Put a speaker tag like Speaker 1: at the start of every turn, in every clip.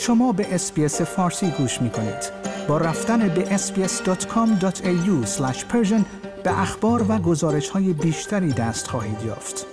Speaker 1: شما به SBS فارسی گوش می‌کنید. با رفتن به sbs.com.au/persian به اخبار و گزارش‌های بیشتری دست خواهید یافت.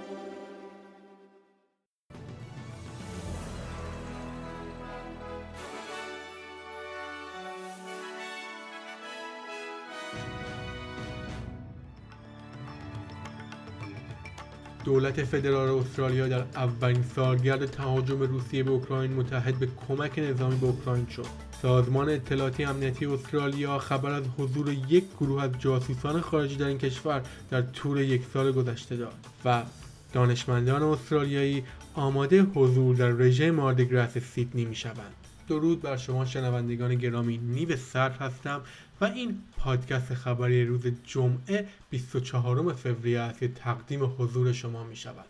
Speaker 2: دولت فدرال استرالیا در اولین سالگرد تهاجم روسیه به اوکراین متحد به کمک نظامی به اوکراین شد. سازمان اطلاعاتی امنیتی استرالیا خبر از حضور یک گروه از جاسوسان خارجی در این کشور در طول یک سال گذشته داد و دانشمندان استرالیایی آماده حضور در رژه ماردیگراس سیدنی می‌شوند. درود بر شما شنوندگان گرامی، نیو صرف هستم و این پادکست خبری روز جمعه 24 فوریه است که تقدیم حضور شما می شود.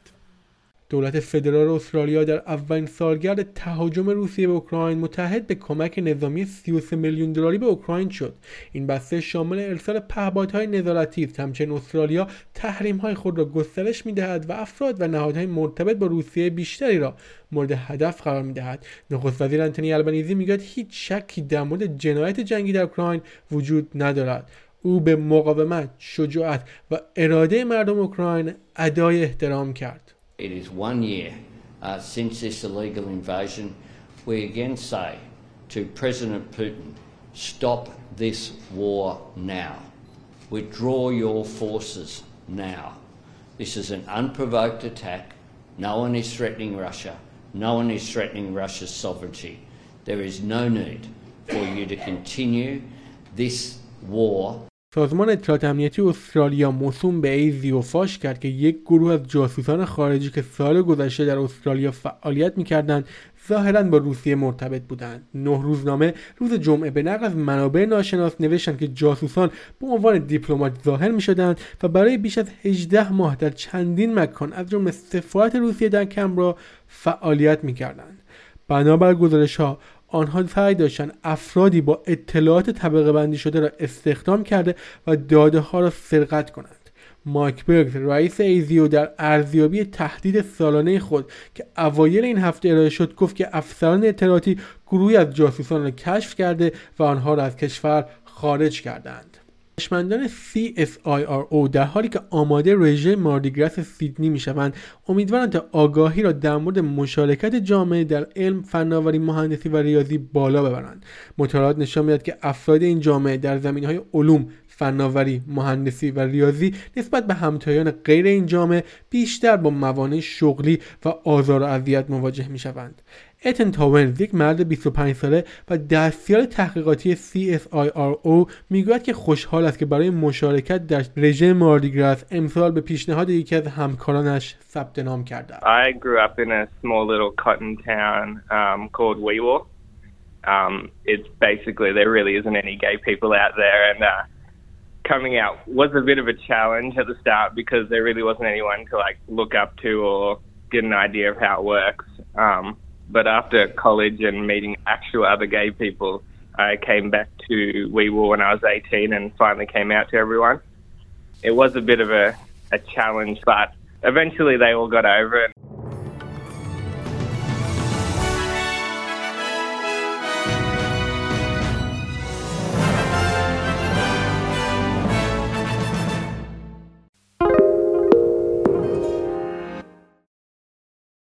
Speaker 2: دولت فدرال استرالیا در اولین سالگرد تهاجم روسیه به اوکراین متحد به کمک نظامی 33 میلیون دلاری به اوکراین شد. این بسته شامل ارسال پهپادهای نظارتی است. همچنین استرالیا تحریم‌های خود را گسترش می‌دهد و افراد و نهادهای مرتبط با روسیه بیشتری را مورد هدف قرار می‌دهد. نخست وزیر انتونی البنیزی میگوید هیچ شکی در مورد جنایت جنگی در اوکراین وجود ندارد. او به مقاومت، شجاعت و اراده مردم اوکراین ادای احترام کرد.
Speaker 3: It is 1 year since this illegal invasion. We again say to President Putin, stop this war now. Withdraw your forces now. This is an unprovoked attack. No one is threatening Russia. No one is threatening Russia's sovereignty. There is no need for you to continue this war.
Speaker 2: سازمان اطلاعات امنیتی استرالیا موسوم به ایزیو فاش کرد که یک گروه از جاسوسان خارجی که سال گذشته در استرالیا فعالیت می‌کردند ظاهراً با روسیه مرتبط بودند. 9 روزنامه روز جمعه به نقل از منابع ناشناس نوشتند که جاسوسان به عنوان دیپلمات ظاهر می‌شدند و برای بیش از 18 ماه در چندین مکان از جمله سفارت روسیه در کمبرا فعالیت می‌کردند. بنابر گزارش‌ها آنها سعی داشتند افرادی با اطلاعات طبقه بندی شده را استخدام کرده و داده ها را سرقت کنند. مایک برگز رئیس ایزیو در ارزیابی تهدید سالانه خود که اوایل این هفته ارائه شد گفت که افسران اطلاعاتی گروهی از جاسوسان را کشف کرده و آنها را از کشور خارج کردند. دانشمندان CSIRO در حالی که آماده رژه ماردیگراس سیدنی میشوند امیدوارند تا آگاهی را در مورد مشارکت جامعه در علم، فناوری، مهندسی و ریاضی بالا ببرند. مطالعات نشان می‌دهد که افراد این جامعه در زمینه‌های علوم، فناوری، مهندسی و ریاضی نسبت به همتایان غیر این جامعه بیشتر با موانع شغلی و آزار و اذیت مواجه می‌شوند. اتن تاونز، یک مرد 25 ساله و دستیار تحقیقاتی CSIRO میگوید که خوشحال است که برای مشارکت در رژه ماردیگراس امسال به پیشنهاد یکی از همکارانش ثبت نام کرده.
Speaker 4: I grew up in a small little cotton town called Wee Waa. It's basically there really isn't any gay people out there, and coming out was a bit of a challenge at the start because there really wasn't anyone to like look up to or get an idea of how it works. But after college and meeting actual other gay people, I came back to Wee Waa when I was 18 and finally came out to everyone. It was a bit of a challenge, but eventually they all got over it